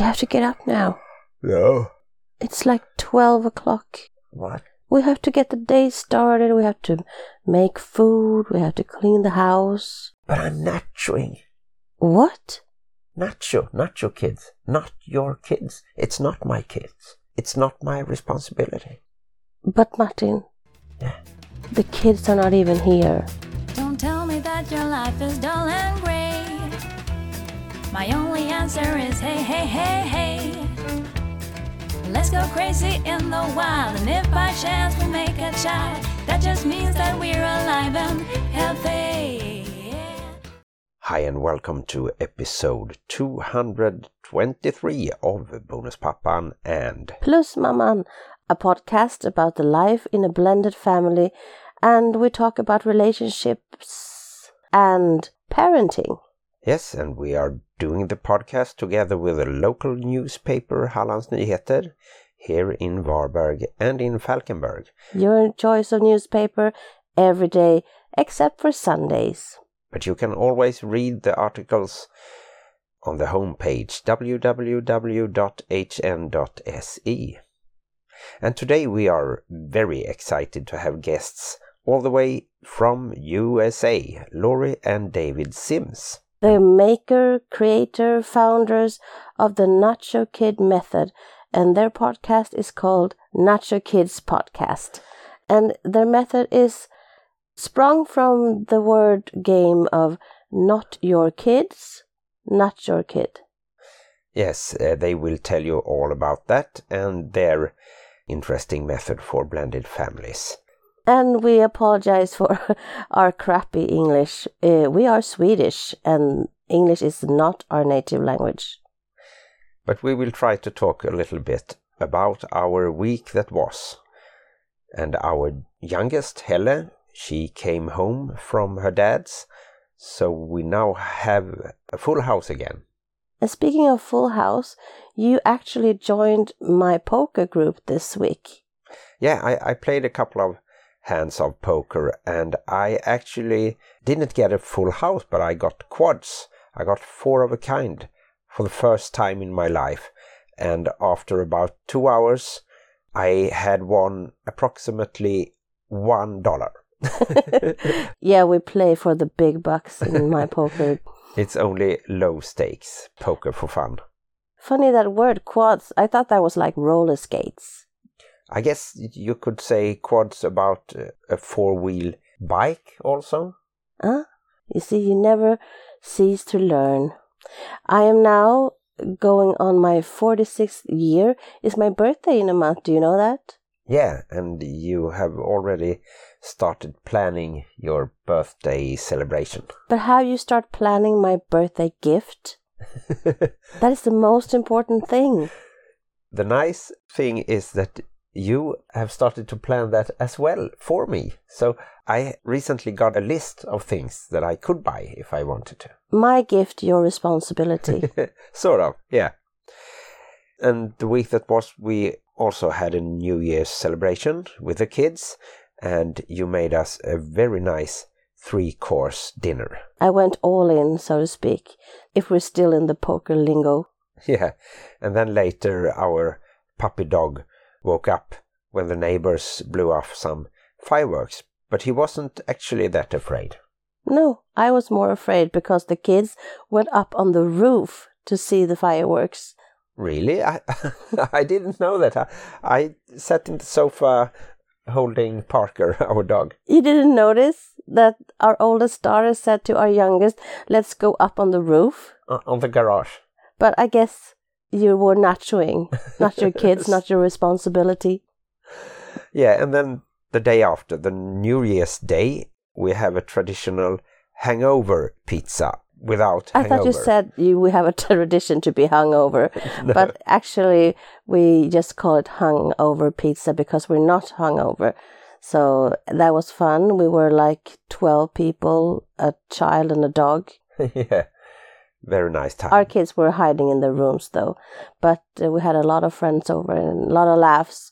You have to get up now. No. It's like 12 o'clock. What? We have to get the day started. We have to make food. We have to clean the house. But I'm nachoing. What? Nacho kids. Not your kids. It's not my kids. It's not my responsibility. But Martin, Yeah. the kids are not even here. Don't tell me that your life is dull and grey. My only answer is hey, hey, hey, hey. Let's go crazy in the wild, and if by chance we make a child, that just means that we're alive and healthy. Hi and welcome to episode 223 of Bonuspappan and Plus Mamman, a podcast about the life in a blended family, and we talk about relationships and parenting. Yes, and we are doing the podcast together with a local newspaper, Hallands Nyheter, here in Varberg and in Falkenberg. Your choice of newspaper every day, except for Sundays. But you can always read the articles on the homepage www.hn.se. And today we are very excited to have guests all the way from USA, Laurie and David Sims. The maker, creator, founders of the Nacho Kid method, and their podcast is called Nacho Kids Podcast. And their method is sprung from the word game of not your kids, not your kid. Yes, they will tell you all about that and their interesting method for blended families. And we apologize for our crappy English. We are Swedish and English is not our native language. But we will try to talk a little bit about our week that was. And our youngest, Helle, she came home from her dad's, so we now have a full house again. And speaking of full house, you actually joined my poker group this week. Yeah, I played a couple of hands of poker and I actually didn't get a full house, but I got quads. I got 4 of a kind for the first time in my life. And after about 2 hours, I had won approximately $1. Yeah, we play for the big bucks in my poker. It's only low stakes poker for fun. Funny that word quads. I thought that was like roller skates. I guess you could say quads about a 4-wheel bike also. Huh? You see, you never cease to learn. I am now going on my 46th year. It's my birthday in a month. Do you know that? Yeah, and you have already started planning your birthday celebration. But how you start planning my birthday gift? That is the most important thing. The nice thing is that you have started to plan that as well for me. So I recently got a list of things that I could buy if I wanted to. My gift, your responsibility. Sort of, yeah. And the week that was, we also had a New Year's celebration with the kids, and you made us a very nice 3-course dinner. I went all in, so to speak, if we're still in the poker lingo. Yeah, and then later our puppy dog woke up when the neighbors blew off some fireworks, but he wasn't actually that afraid. No, I was more afraid because the kids went up on the roof to see the fireworks. Really? I didn't know that. I sat in the sofa holding Parker, our dog. You didn't notice that our oldest daughter said to our youngest, let's go up on the roof? On the garage. But I guess you were nachoing. Not your kids, not your responsibility. Yeah, and then the day after, the New Year's Day, we have a traditional hangover pizza without hangover. I thought you said we have a tradition to be hungover. No. But actually, we just call it hungover pizza because we're not hungover. So that was fun. We were like 12 people, a child and a dog. Yeah, very nice time. Our kids were hiding in their rooms though. But we had a lot of friends over and a lot of laughs.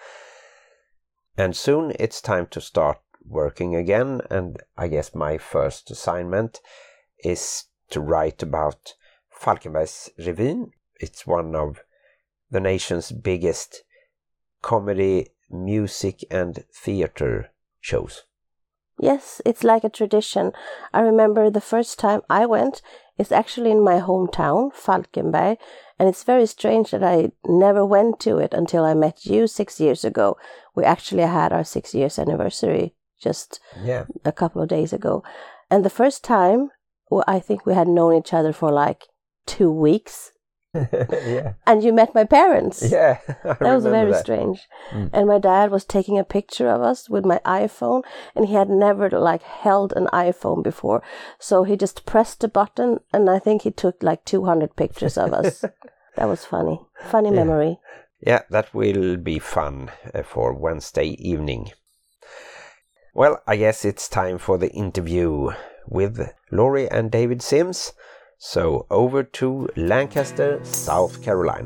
And soon it's time to start working again. And I guess my first assignment is to write about Falkenbergs Revyn. it's one of the nation's biggest comedy, music and theater shows. Yes, it's like a tradition. I remember the first time I went, it's actually in my hometown, Falkenberg, and it's very strange that I never went to it until I met you 6 years ago. We actually had our 6 years anniversary just a couple of days ago. And the first time, well, I think we had known each other for like 2 weeks. Yeah. And you met my parents. Yeah. That was very strange. And my dad was taking a picture of us with my iPhone, and he had never like held an iPhone before. So he just pressed a button, and I think he took like 200 pictures of us. That was funny. Funny memory. Yeah, that will be fun for Wednesday evening. Well, I guess it's time for the interview with Laurie and David Sims. So over to Lancaster, South Carolina.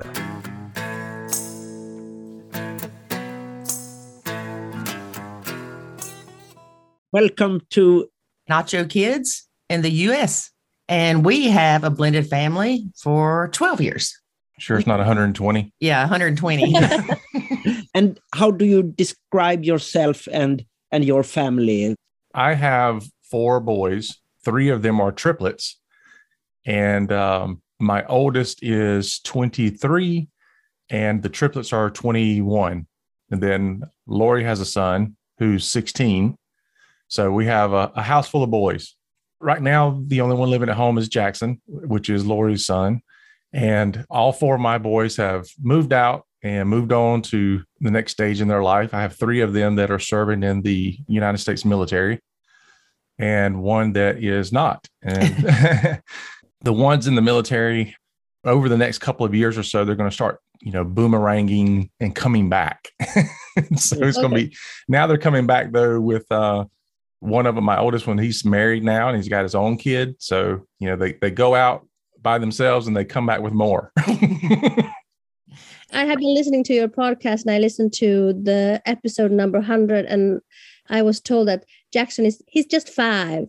Welcome to Nacho Kids in the U.S. And we have a blended family for 12 years. Sure, it's not 120. Yeah, 120. And how do you describe yourself and your family? I have 4 boys. 3 of them are triplets. And my oldest is 23 and the triplets are 21. And then Laurie has a son who's 16. So we have a house full of boys. Right now, the only one living at home is Jackson, which is Laurie's son. And all 4 of my boys have moved out and moved on to the next stage in their life. I have 3 of them that are serving in the United States military and 1 that is not. And the ones in the military, over the next couple of years or so, they're going to start, boomeranging and coming back. So it's going to be, now they're coming back though with one of them, my oldest one, he's married now and he's got his own kid. So, they go out by themselves and they come back with more. I have been listening to your podcast and I listened to the episode number 100 and I was told that Jackson he's just 5.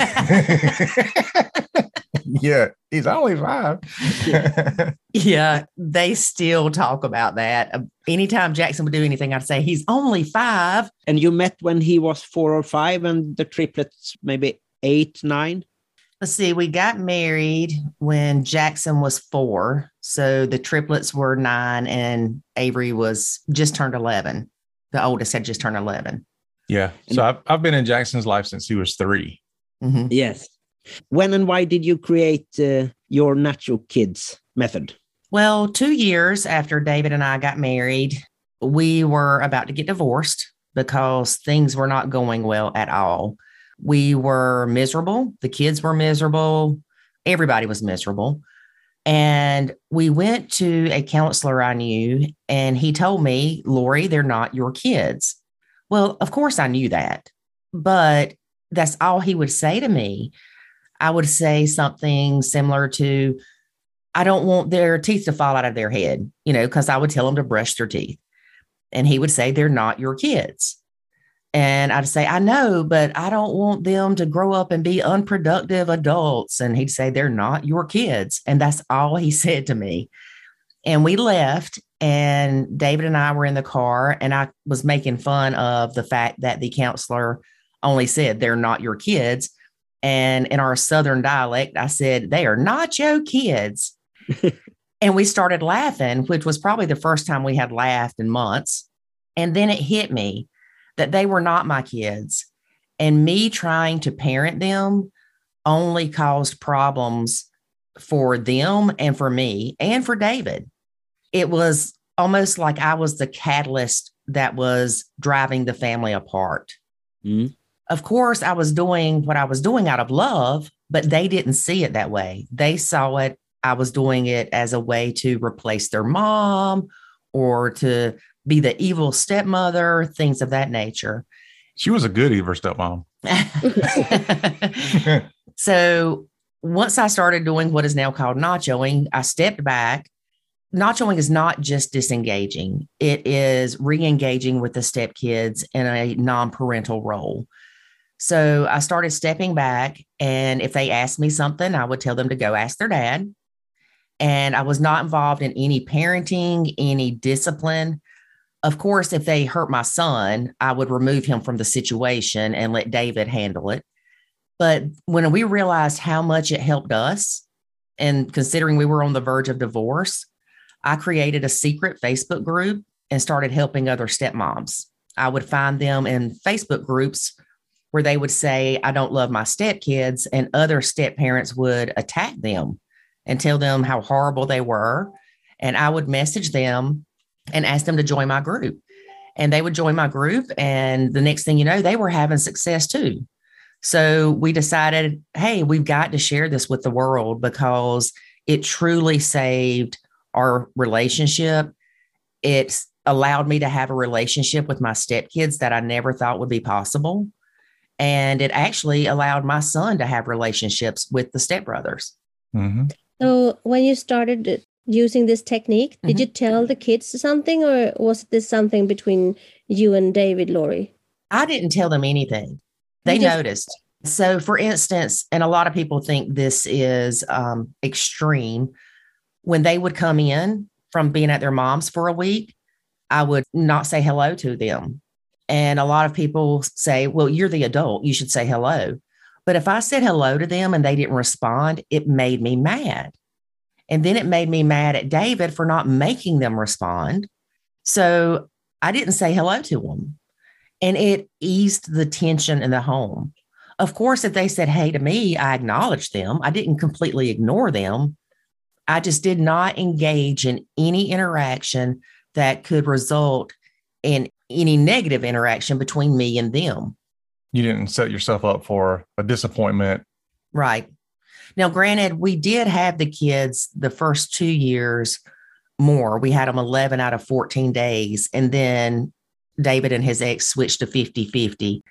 Yeah, he's only 5. Yeah, they still talk about that. Anytime Jackson would do anything, I'd say he's only 5. And you met when he was 4 or 5 and the triplets maybe 8, 9? Let's see, we got married when Jackson was 4. So the triplets were 9 and Avery was just turned 11. The oldest had just turned 11. Yeah. So I've been in Jackson's life since he was 3. Mm-hmm. Yes. When and why did you create your Nacho Kids method? Well, 2 years after David and I got married, we were about to get divorced because things were not going well at all. We were miserable. The kids were miserable. Everybody was miserable. And we went to a counselor I knew, and he told me, Laurie, they're not your kids. Well, of course I knew that, but that's all he would say to me. I would say something similar to, I don't want their teeth to fall out of their head, because I would tell them to brush their teeth. And he would say, they're not your kids. And I'd say, I know, but I don't want them to grow up and be unproductive adults. And he'd say, they're not your kids. And that's all he said to me. And we left, and David and I were in the car, and I was making fun of the fact that the counselor only said, they're not your kids. And in our Southern dialect, I said, they are not your kids. And we started laughing, which was probably the first time we had laughed in months. And then it hit me that they were not my kids. And me trying to parent them only caused problems for them and for me and for David. It was almost like I was the catalyst that was driving the family apart. Mm. Of course, I was doing what I was doing out of love, but they didn't see it that way. They saw it, I was doing it as a way to replace their mom or to be the evil stepmother, things of that nature. She was a good evil stepmom. So once I started doing what is now called nachoing, I stepped back. Nachoing is not just disengaging. It is re-engaging with the stepkids in a non-parental role. So I started stepping back, and if they asked me something, I would tell them to go ask their dad. And I was not involved in any parenting, any discipline. Of course, if they hurt my son, I would remove him from the situation and let David handle it. But when we realized how much it helped us, and considering we were on the verge of divorce, I created a secret Facebook group and started helping other stepmoms. I would find them in Facebook groups where they would say, I don't love my stepkids, and other step parents would attack them and tell them how horrible they were. And I would message them and ask them to join my group. And they would join my group. And the next thing you know, they were having success too. So we decided, hey, we've got to share this with the world because it truly saved our relationship. It's allowed me to have a relationship with my stepkids that I never thought would be possible. And it actually allowed my son to have relationships with the stepbrothers. Mm-hmm. So when you started using this technique, did you tell the kids something, or was this something between you and David, Lori? I didn't tell them anything. They noticed. So for instance, and a lot of people think this is extreme, when they would come in from being at their mom's for a week, I would not say hello to them. And a lot of people say, well, you're the adult, you should say hello. But if I said hello to them and they didn't respond, it made me mad. And then it made me mad at David for not making them respond. So I didn't say hello to them. And it eased the tension in the home. Of course, if they said hey to me, I acknowledged them. I didn't completely ignore them. I just did not engage in any interaction that could result in any negative interaction between me and them. You didn't set yourself up for a disappointment. Right. Now, granted, we did have the kids the first 2 years more. We had them 11 out of 14 days. And then David and his ex switched to 50-50.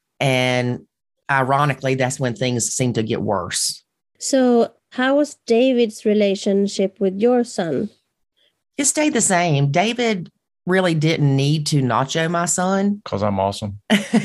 And ironically, that's when things seemed to get worse. So how was David's relationship with your son? It stayed the same. David really didn't need to nacho my son. Because I'm awesome.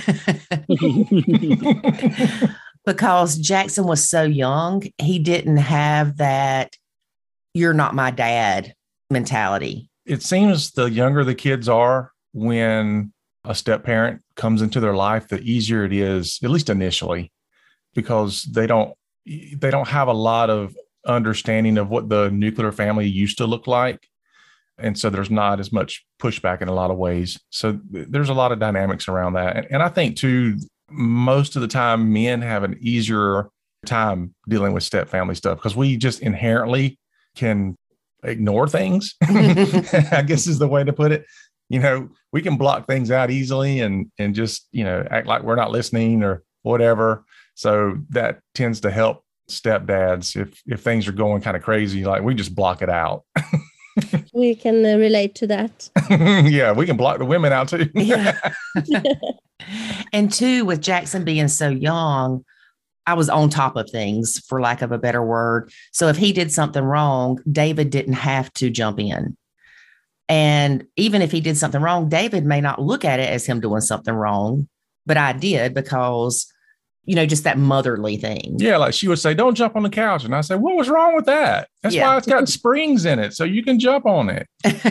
Because Jackson was so young, he didn't have that you're not my dad mentality. It seems the younger the kids are, when a step parent comes into their life, the easier it is, at least initially, because they don't have a lot of understanding of what the nuclear family used to look like. And so there's not as much pushback in a lot of ways. So there's a lot of dynamics around that. And I think too, most of the time men have an easier time dealing with step family stuff because we just inherently can ignore things, I guess is the way to put it. You know, we can block things out easily and just, you know, act like we're not listening or whatever. So that tends to help stepdads if things are going kind of crazy, like we just block it out. We can relate to that. Yeah, we can block the women out too. Yeah. And two, with Jackson being so young, I was on top of things, for lack of a better word. So if he did something wrong, David didn't have to jump in. And even if he did something wrong, David may not look at it as him doing something wrong, but I did because, you know, just that motherly thing. Yeah, like she would say, don't jump on the couch. And I said, what was wrong with that? That's why it's got springs in it, so you can jump on it.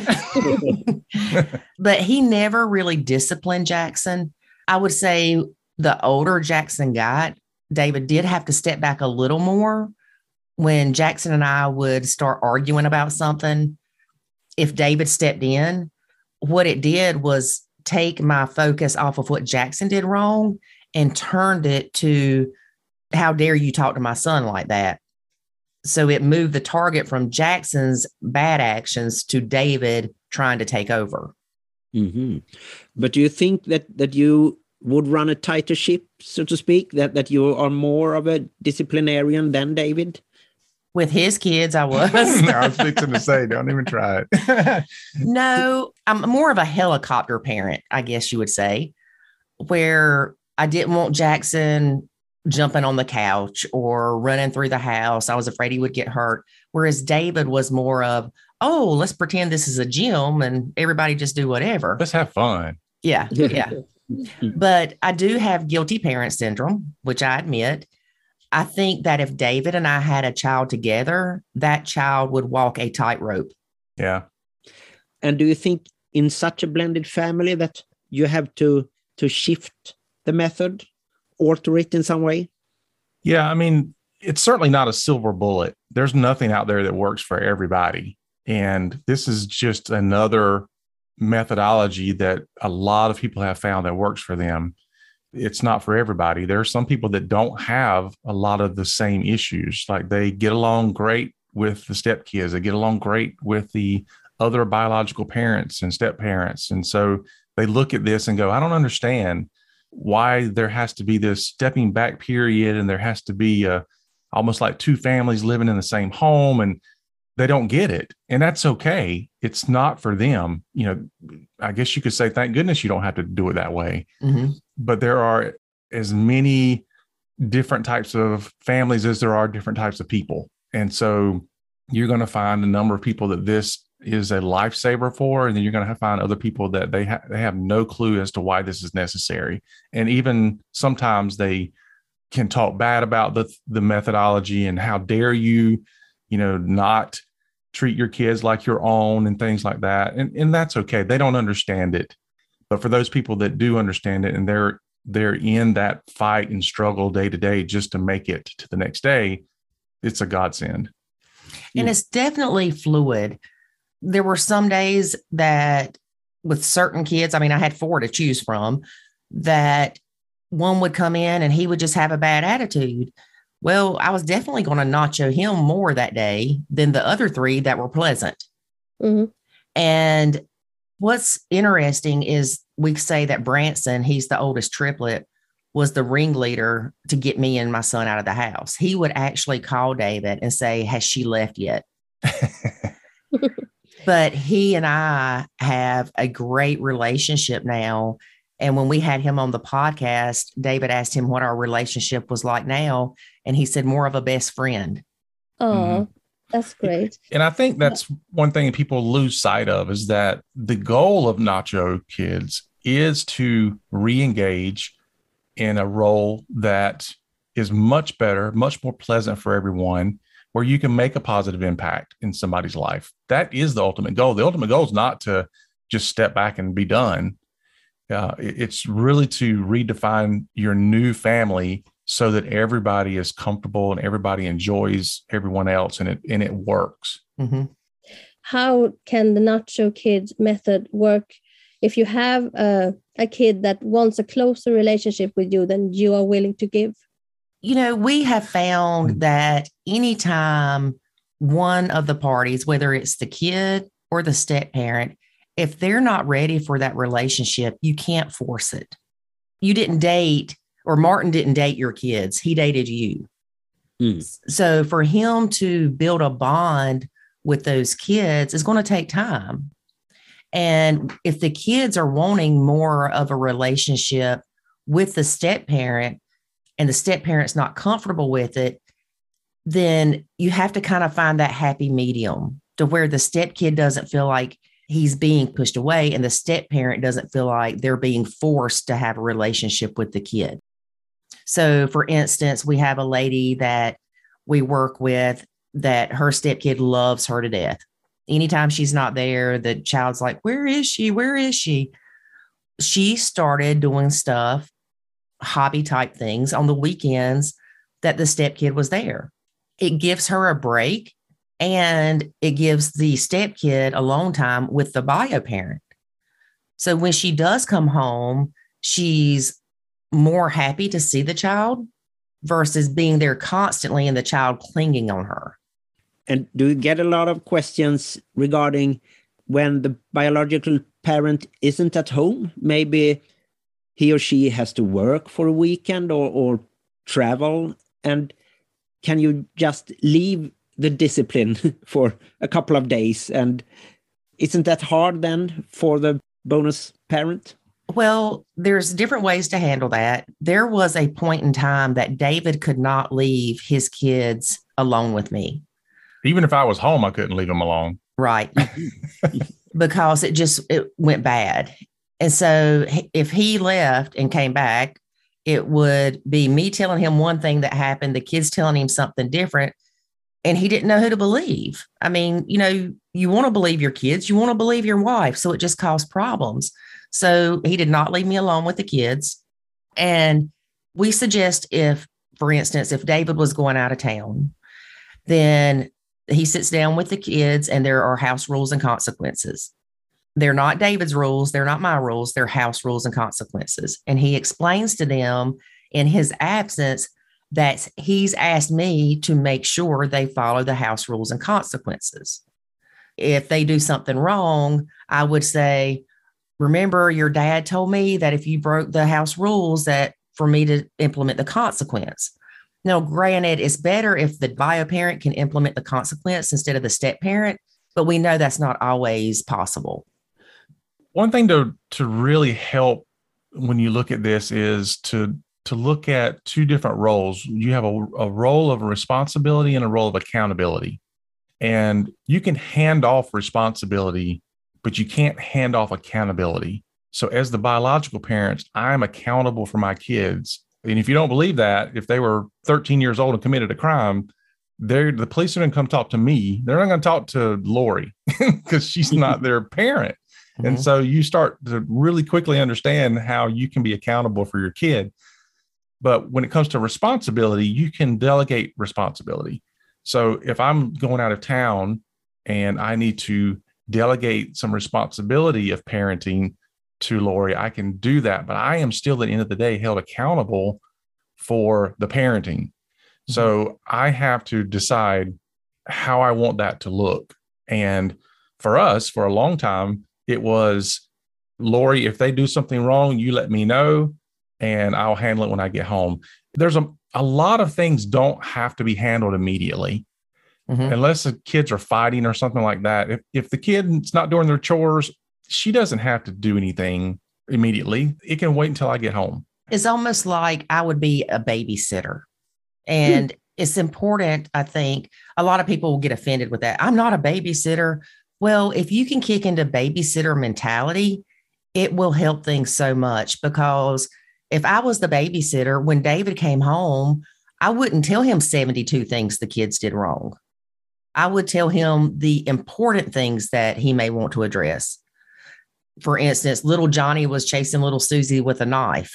But he never really disciplined Jackson. I would say the older Jackson got, David did have to step back a little more. When Jackson and I would start arguing about something, if David stepped in, what it did was take my focus off of what Jackson did wrong and turned it to, how dare you talk to my son like that? So it moved the target from Jackson's bad actions to David trying to take over. Mm-hmm. But do you think that you would run a tighter ship, so to speak, that you are more of a disciplinarian than David? With his kids, I was. No, I was fixing to say, don't even try it. No, I'm more of a helicopter parent, I guess you would say, where I didn't want Jackson jumping on the couch or running through the house. I was afraid he would get hurt. Whereas David was more of, oh, let's pretend this is a gym and everybody just do whatever. Let's have fun. Yeah. Yeah. But I do have guilty parent syndrome, which I admit. I think that if David and I had a child together, that child would walk a tightrope. Yeah. And do you think in such a blended family that you have to shift the method, alter it in some way? Yeah, I mean, it's certainly not a silver bullet. There's nothing out there that works for everybody. And this is just another methodology that a lot of people have found that works for them. It's not for everybody. There are some people that don't have a lot of the same issues. Like they get along great with the stepkids. They get along great with the other biological parents and step parents. And so they look at this and go, I don't understand why there has to be this stepping back period. And there has to be almost like two families living in the same home, and they don't get it. And that's okay. It's not for them. You know, I guess you could say, thank goodness you don't have to do it that way. Mm-hmm. But there are as many different types of families as there are different types of people. And so you're going to find a number of people that this is a lifesaver for, and then you're going to find other people that they have no clue as to why this is necessary. And even sometimes they can talk bad about the methodology and how dare you, not treat your kids like your own and things like that. And that's okay. They don't understand it. But for those people that do understand it and they're in that fight and struggle day to day just to make it to the next day, it's a godsend. And it's definitely fluid. There were some days that with certain kids, I mean, I had 4 to choose from, that one would come in and he would just have a bad attitude. Well, I was definitely going to nacho him more that day than the other 3 that were pleasant. Mm-hmm. And what's interesting is we say that Branson, he's the oldest triplet, was the ringleader to get me and my son out of the house. He would actually call David and say, has she left yet? But he and I have a great relationship now. And when we had him on the podcast, David asked him what our relationship was like now. And he said more of a best friend. Oh, that's great. And I think that's one thing people lose sight of, is that the goal of Nacho Kids is to re-engage in a role that is much better, much more pleasant for everyone, where you can make a positive impact in somebody's life. That is the ultimate goal. The ultimate goal is not to just step back and be done. It's really to redefine your new family so that everybody is comfortable and everybody enjoys everyone else, and it works. Mm-hmm. How can the Nacho Kids method work if you have a kid that wants a closer relationship with you than you are willing to give? We have found that anytime one of the parties, whether it's the kid or the step parent, if they're not ready for that relationship, you can't force it. You didn't date, or Martin didn't date your kids. He dated you. So for him to build a bond with those kids is going to take time. And if the kids are wanting more of a relationship with the step parent and the step parent's not comfortable with it, then you have to kind of find that happy medium to where the step kid doesn't feel like he's being pushed away and the step parent doesn't feel like they're being forced to have a relationship with the kid. So for instance, we have a lady that we work with that her stepkid loves her to death. Anytime she's not there, the child's like, where is she? Where is she? She started doing stuff, hobby type things on the weekends that the stepkid was there. It gives her a break, and it gives the stepkid alone time with the bio parent. So when she does come home, she's more happy to see the child versus being there constantly and the child clinging on her. And do you get a lot of questions regarding when the biological parent isn't at home? Maybe he or she has to work for a weekend or travel. And can you just leave the discipline for a couple of days? And isn't that hard then for the bonus parent? Well, there's different ways to handle that. There was a point in time that David could not leave his kids alone with me. Even if I was home, I couldn't leave them alone. Right. Because it went bad. And so if he left and came back, it would be me telling him one thing that happened, the kids telling him something different, and he didn't know who to believe. I mean, you want to believe your kids, you want to believe your wife. So it just caused problems. So he did not leave me alone with the kids. And we suggest for instance, if David was going out of town, then he sits down with the kids and there are house rules and consequences. They're not David's rules. They're not my rules. They're house rules and consequences. And he explains to them in his absence that he's asked me to make sure they follow the house rules and consequences. If they do something wrong, I would say, remember, your dad told me that if you broke the house rules, that for me to implement the consequence. Now, granted, it's better if the bio parent can implement the consequence instead of the step parent, but we know that's not always possible. One thing to really help when you look at this is to look at two different roles. You have a role of responsibility and a role of accountability. And you can hand off responsibility, but you can't hand off accountability. So as the biological parents, I'm accountable for my kids. And if you don't believe that, if they were 13 years old and committed a crime, the police are going to come talk to me. They're not going to talk to Lori because she's not their parent. Mm-hmm. And so you start to really quickly understand how you can be accountable for your kid. But when it comes to responsibility, you can delegate responsibility. So if I'm going out of town and I need to delegate some responsibility of parenting to Lori, I can do that. But I am still at the end of the day held accountable for the parenting. Mm-hmm. So I have to decide how I want that to look. And for us, for a long time, it was, Lori, if they do something wrong, you let me know and I'll handle it when I get home. There's a lot of things don't have to be handled immediately. Mm-hmm. Unless the kids are fighting or something like that. If the kid's not doing their chores, she doesn't have to do anything immediately. It can wait until I get home. It's almost like I would be a babysitter. And it's important, I think, a lot of people will get offended with that. I'm not a babysitter. Well, if you can kick into babysitter mentality, it will help things so much, because if I was the babysitter, when David came home, I wouldn't tell him 72 things the kids did wrong. I would tell him the important things that he may want to address. For instance, little Johnny was chasing little Susie with a knife.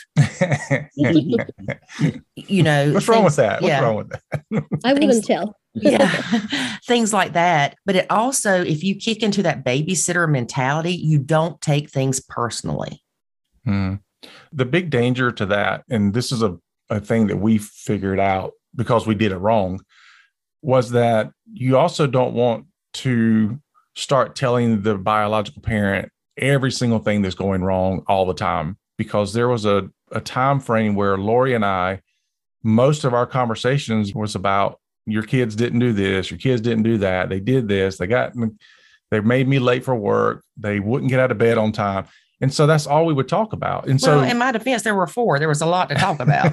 What's wrong with that? What's wrong with that? I wouldn't tell. Things like that. But it also, if you kick into that babysitter mentality, you don't take things personally. The big danger to that, and this is a thing that we figured out because we did it wrong, was that you also don't want to start telling the biological parent every single thing that's going wrong all the time, because there was a time frame where Lori and I, most of our conversations was about, your kids didn't do this, your kids didn't do that, they did this, they made me late for work, they wouldn't get out of bed on time. And so that's all we would talk about. And so, in my defense, there were 4. There was a lot to talk about.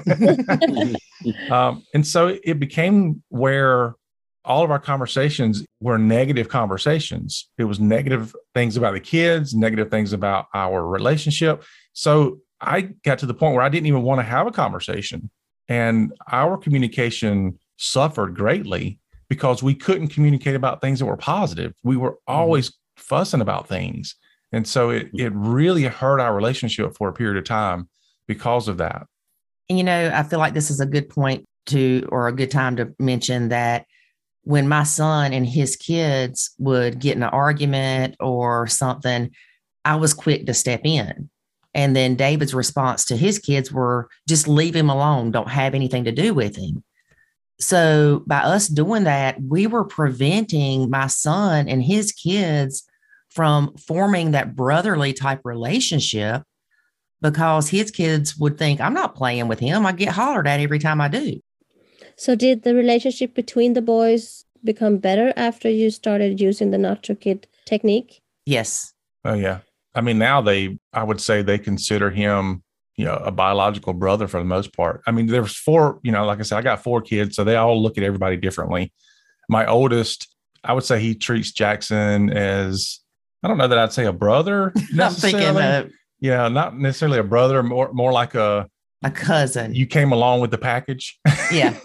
And so it became where all of our conversations were negative conversations. It was negative things about the kids, negative things about our relationship. So I got to the point where I didn't even want to have a conversation. And our communication suffered greatly because we couldn't communicate about things that were positive. We were always fussing about things. And so it really hurt our relationship for a period of time because of that. And, I feel like this is a good point or a good time to mention that when my son and his kids would get in an argument or something, I was quick to step in. And then David's response to his kids were, just leave him alone. Don't have anything to do with him. So by us doing that, we were preventing my son and his kids from forming that brotherly type relationship, because his kids would think, I'm not playing with him. I get hollered at every time I do. So did the relationship between the boys become better after you started using the Nacho Kid technique? Yes. Oh, yeah. I mean, now I would say they consider him, a biological brother for the most part. I mean, there's 4, like I said, I got 4 kids, so they all look at everybody differently. My oldest, I would say he treats Jackson as, I don't know that I'd say a brother necessarily. I'm thinking not necessarily a brother, more like a A cousin. You came along with the package. Yeah.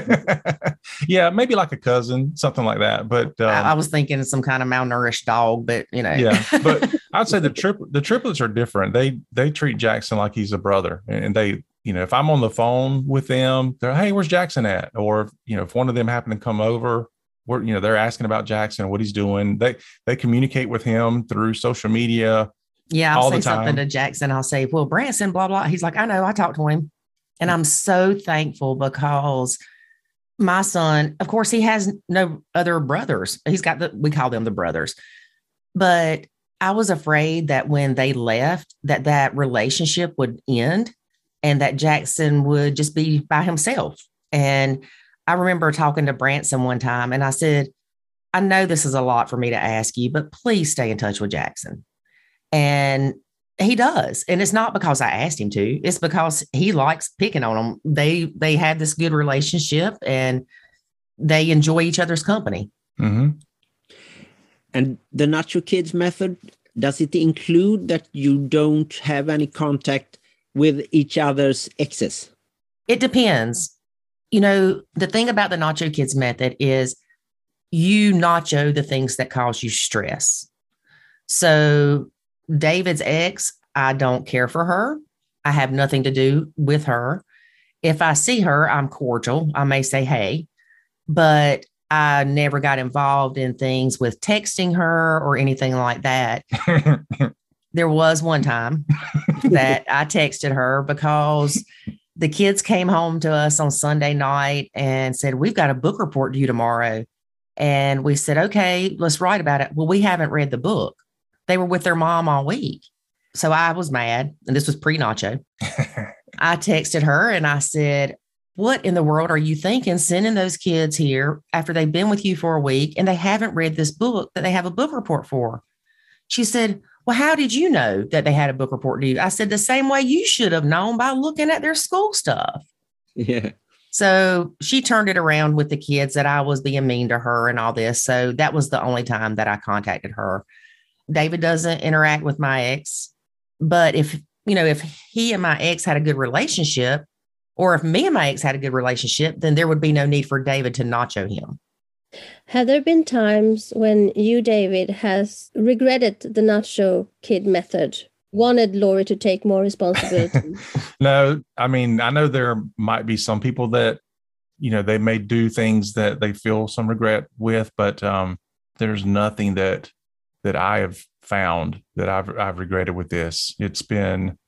Yeah, maybe like a cousin, something like that. But I was thinking some kind of malnourished dog, but Yeah, but I'd say the triplets are different. They treat Jackson like he's a brother, and they, if I'm on the phone with them, they're, hey, where's Jackson at? Or if one of them happen to come over, they're asking about Jackson, what he's doing. They communicate with him through social media. Yeah, I'll say something to Jackson. I'll say, well, Branson, blah, blah. He's like, I know, I talked to him. And I'm so thankful because my son, of course, he has no other brothers. He's got we call them the brothers. But I was afraid that when they left, that relationship would end and that Jackson would just be by himself. And I remember talking to Branson one time and I said, I know this is a lot for me to ask you, but please stay in touch with Jackson. And he does. And it's not because I asked him to, it's because he likes picking on them. They have this good relationship and they enjoy each other's company. Mm-hmm. And the Nacho Kids method, does it include that you don't have any contact with each other's exes? It depends. The thing about the Nacho Kids method is you nacho the things that cause you stress. So David's ex, I don't care for her. I have nothing to do with her. If I see her, I'm cordial. I may say, hey, but I never got involved in things with texting her or anything like that. There was one time that I texted her because the kids came home to us on Sunday night and said, we've got a book report due tomorrow. And we said, okay, let's write about it. Well, we haven't read the book. They were with their mom all week. So I was mad. And this was pre-Nacho. I texted her and I said, what in the world are you thinking sending those kids here after they've been with you for a week and they haven't read this book that they have a book report for? She said, well, how did you know that they had a book report due? I said, the same way you should have known by looking at their school stuff. Yeah. So she turned it around with the kids that I was being mean to her and all this. So that was the only time that I contacted her. David doesn't interact with my ex, but if he and my ex had a good relationship, or if me and my ex had a good relationship, then there would be no need for David to nacho him. Have there been times when you, David, has regretted the Nacho Kid method, wanted Lori to take more responsibility? No, I mean, I know there might be some people that, they may do things that they feel some regret with, but there's nothing that I have found that I've regretted with this. It's been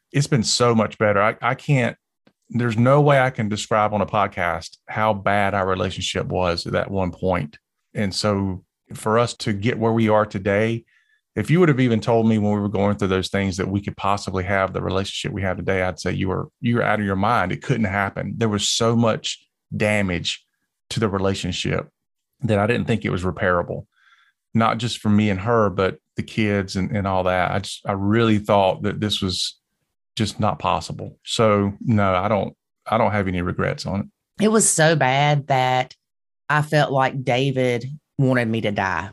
so much better. I can't. There's no way I can describe on a podcast how bad our relationship was at that one point. And so for us to get where we are today, if you would have even told me when we were going through those things that we could possibly have the relationship we have today, I'd say you were out of your mind. It couldn't happen. There was so much damage to the relationship that I didn't think it was repairable, not just for me and her, but the kids and all that. I really thought that this was just not possible. So no, I don't have any regrets on it. It was so bad that I felt like David wanted me to die.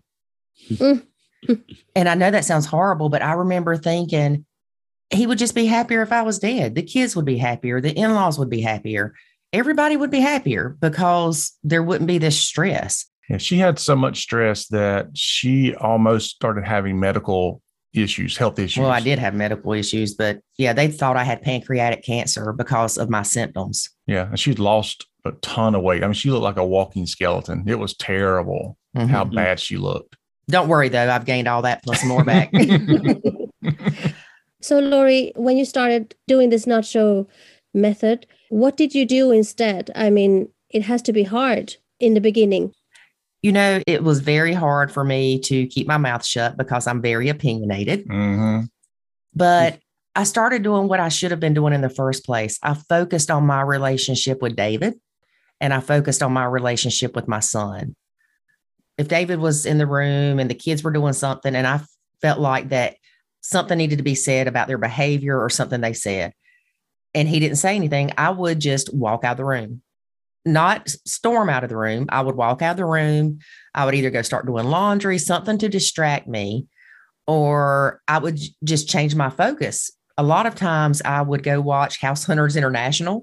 And I know that sounds horrible, but I remember thinking he would just be happier if I was dead. The kids would be happier. The in-laws would be happier. Everybody would be happier because there wouldn't be this stress. Yeah, she had so much stress that she almost started having medical issues, health issues. Well, I did have medical issues, but yeah, they thought I had pancreatic cancer because of my symptoms. Yeah, and she'd lost a ton of weight. I mean, she looked like a walking skeleton. It was terrible how bad she looked. Don't worry, though. I've gained all that plus more back. So, Lori, when you started doing this nacho method, what did you do instead? I mean, it has to be hard in the beginning. It was very hard for me to keep my mouth shut because I'm very opinionated. Mm-hmm. But I started doing what I should have been doing in the first place. I focused on my relationship with David, and I focused on my relationship with my son. If David was in the room and the kids were doing something, and I felt like that something needed to be said about their behavior or something they said, and he didn't say anything, I would just walk out of the room. Not storm out of the room. I would walk out of the room. I would either go start doing laundry, something to distract me, or I would just change my focus. a lot of times I would go watch House Hunters International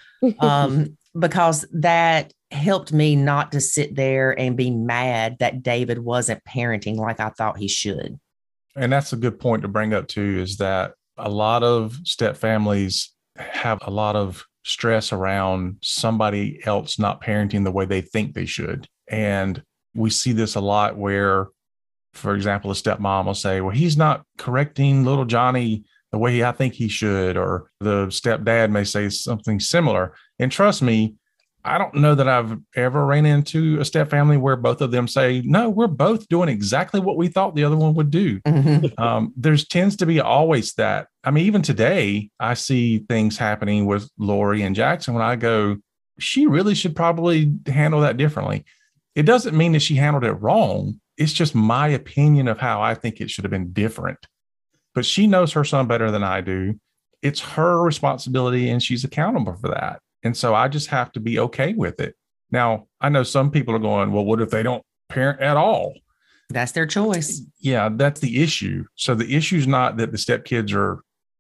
because that helped me not to sit there and be mad that David wasn't parenting like I thought he should. And that's a good point to bring up too, is that a lot of step families have a lot of stress around somebody else not parenting the way they think they should. And we see this a lot where, for example, a stepmom will say, well, he's not correcting little Johnny the way I think he should, or the stepdad may say something similar. And trust me, I don't know that I've ever ran into a step family where both of them say, no, we're both doing exactly what we thought the other one would do. There's tends to be always that. I mean, even today, I see things happening with Lori and Jackson when I go, she really should probably handle that differently. It doesn't mean that she handled it wrong. It's just my opinion of how I think it should have been different. But she knows her son better than I do. It's her responsibility and she's accountable for that. And so I just have to be okay with it. Now, I know some people are going, well, what if they don't parent at all? That's their choice. Yeah, that's the issue. So the issue is not that the stepkids are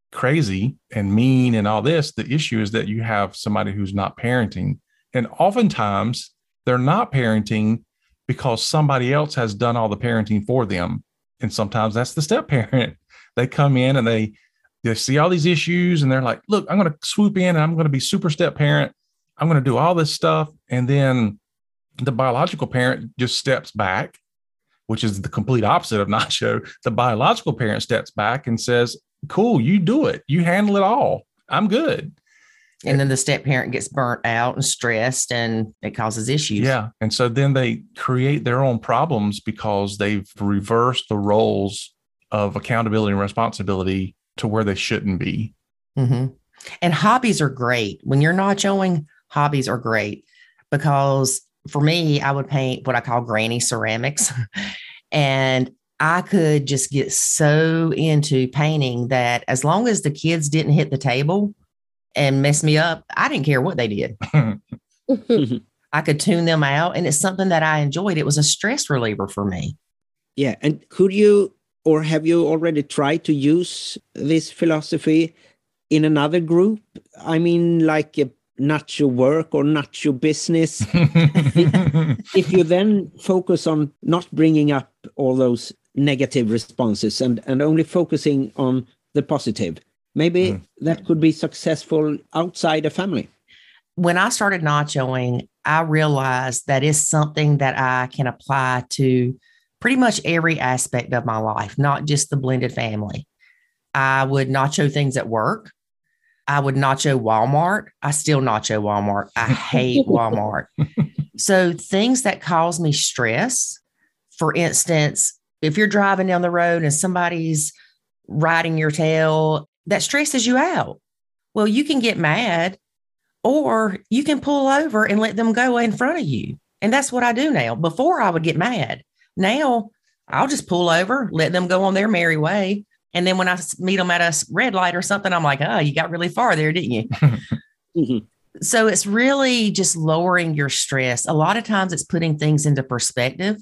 crazy and mean and all this. The issue is that you have somebody who's not parenting. And oftentimes they're not parenting because somebody else has done all the parenting for them. And sometimes that's the step parent. They come in and they see all these issues and they're like, look, I'm going to swoop in and I'm going to be super step parent. I'm going to do all this stuff. And then the biological parent just steps back, which is the complete opposite of Nacho. The biological parent steps back and says, cool, you do it. You handle it all. I'm good. And then the step parent gets burnt out and stressed and it causes issues. Yeah. And so then they create their own problems because they've reversed the roles of accountability and responsibility to where they shouldn't be. Mm-hmm. And hobbies are great. When you're nachoing, hobbies are great because for me, I would paint what I call granny ceramics. And I could just get so into painting that as long as the kids didn't hit the table and mess me up, I didn't care what they did. I could tune them out. And it's something that I enjoyed. It was a stress reliever for me. Yeah. And could you, or have you already tried to use this philosophy in another group? I mean, like not your work or not your business. If you then focus on not bringing up all those negative responses and only focusing on the positive, maybe that could be successful outside a family. When I started nachoing, I realized that is something that I can apply to pretty much every aspect of my life, not just the blended family. I would nacho things at work. I would nacho Walmart. I still nacho Walmart. I hate Walmart. So things that cause me stress, for instance, if you're driving down the road and somebody's riding your tail, that stresses you out. Well, you can get mad or you can pull over and let them go in front of you. And that's what I do now. Before I would get mad. Now I'll just pull over, let them go on their merry way. And then when I meet them at a red light or something, I'm like, oh, you got really far there, didn't you? Mm-hmm. So it's really just lowering your stress. A lot of times it's putting things into perspective.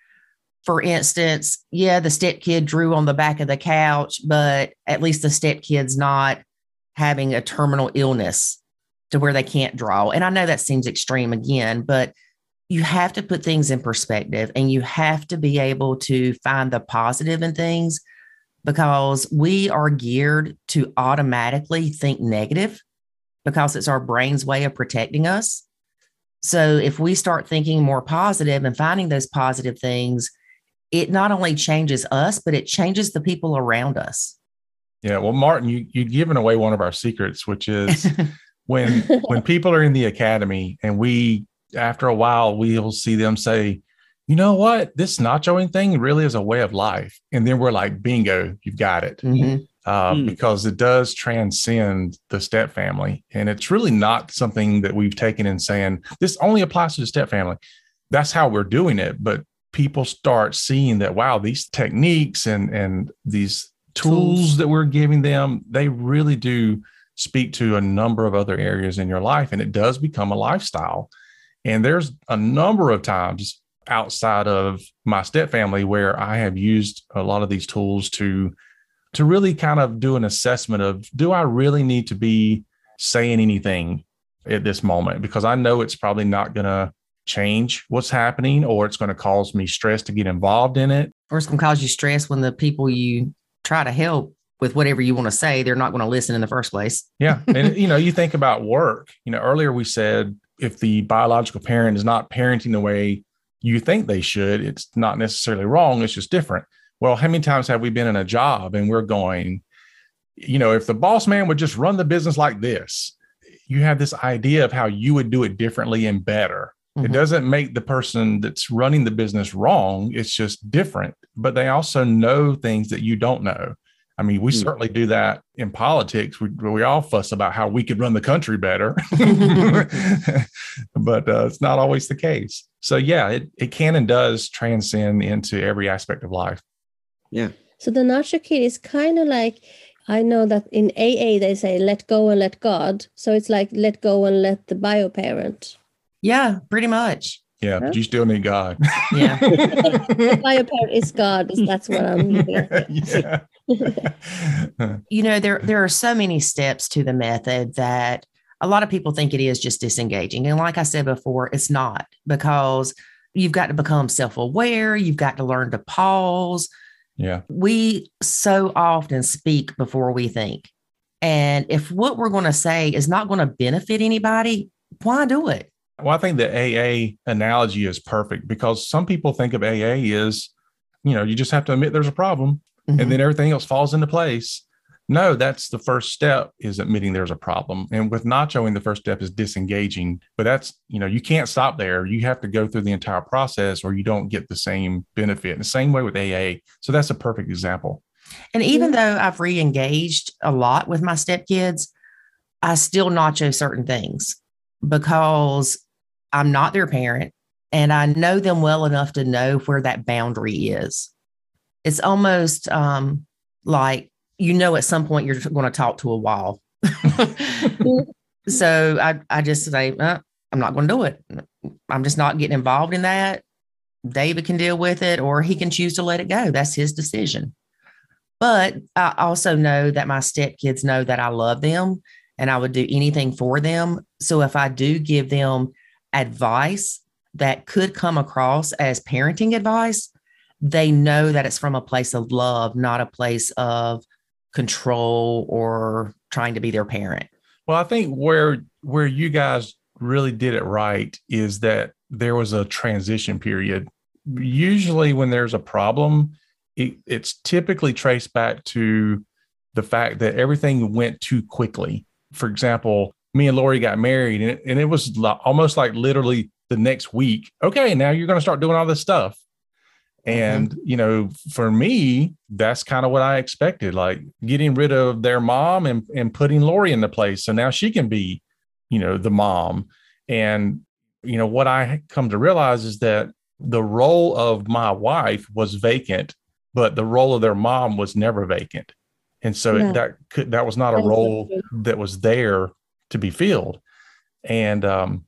For instance, yeah, the stepkid drew on the back of the couch, but at least the stepkid's not having a terminal illness to where they can't draw. And I know that seems extreme again, but you have to put things in perspective and you have to be able to find the positive in things because we are geared to automatically think negative because it's our brain's way of protecting us. So if we start thinking more positive and finding those positive things, it not only changes us, but it changes the people around us. Yeah. Well, Martin, you've given away one of our secrets, which is when people are in the academy and after a while, we'll see them say, you know what, this nachoing thing really is a way of life. And then we're like, bingo, you've got it. Mm-hmm. Because it does transcend the step family. And it's really not something that we've taken and saying, this only applies to the step family. That's how we're doing it. But people start seeing that, wow, these techniques and these tools that we're giving them, they really do speak to a number of other areas in your life. And it does become a lifestyle. And there's a number of times outside of my step family where I have used a lot of these tools to to really kind of do an assessment of, do I really need to be saying anything at this moment? Because I know it's probably not going to change what's happening, or it's going to cause me stress to get involved in it. Or it's going to cause you stress when the people you try to help with whatever you want to say, they're not going to listen in the first place. Yeah. And, you think about work, earlier we said, if the biological parent is not parenting the way you think they should, it's not necessarily wrong. It's just different. Well, how many times have we been in a job and we're going, if the boss man would just run the business like this, you have this idea of how you would do it differently and better. Mm-hmm. It doesn't make the person that's running the business wrong. It's just different, but they also know things that you don't know. I mean, we certainly do that in politics. We all fuss about how we could run the country better, but it's not always the case. So yeah, it can and does transcend into every aspect of life. Yeah. So the Nacho Kid is kind of like, I know that in AA they say let go and let God. So it's like let go and let the bio parent. Yeah, pretty much. Yeah, but you still need God. Yeah. The bio parent is God. That's what I'm looking at. Yeah. There are so many steps to the method that a lot of people think it is just disengaging. And like I said before, it's not, because you've got to become self-aware. You've got to learn to pause. Yeah. We so often speak before we think. And if what we're going to say is not going to benefit anybody, why do it? Well, I think the AA analogy is perfect, because some people think of AA is, you just have to admit there's a problem, mm-hmm. and then everything else falls into place. No, that's the first step, is admitting there's a problem. And with Nachoing, the first step is disengaging. But that's, you can't stop there. You have to go through the entire process or you don't get the same benefit. And the same way with AA. So that's a perfect example. And even though I've re-engaged a lot with my stepkids, I still Nacho certain things because I'm not their parent and I know them well enough to know where that boundary is. It's almost like, at some point you're going to talk to a wall. So I just say, I'm not going to do it. I'm just not getting involved in that. David can deal with it, or he can choose to let it go. That's his decision. But I also know that my stepkids know that I love them and I would do anything for them. So if I do give them advice that could come across as parenting advice, they know that it's from a place of love, not a place of control or trying to be their parent. Well, I think where you guys really did it right is that there was a transition period. Usually when there's a problem, it's typically traced back to the fact that everything went too quickly. For example, me and Lori got married and it was almost like literally the next week. Okay, now you're going to start doing all this stuff. And, for me, that's kind of what I expected, like getting rid of their mom and putting Lori into place. So now she can be, the mom. And, what I come to realize is that the role of my wife was vacant, but the role of their mom was never vacant. And so that was not a role that was there to be filled. And,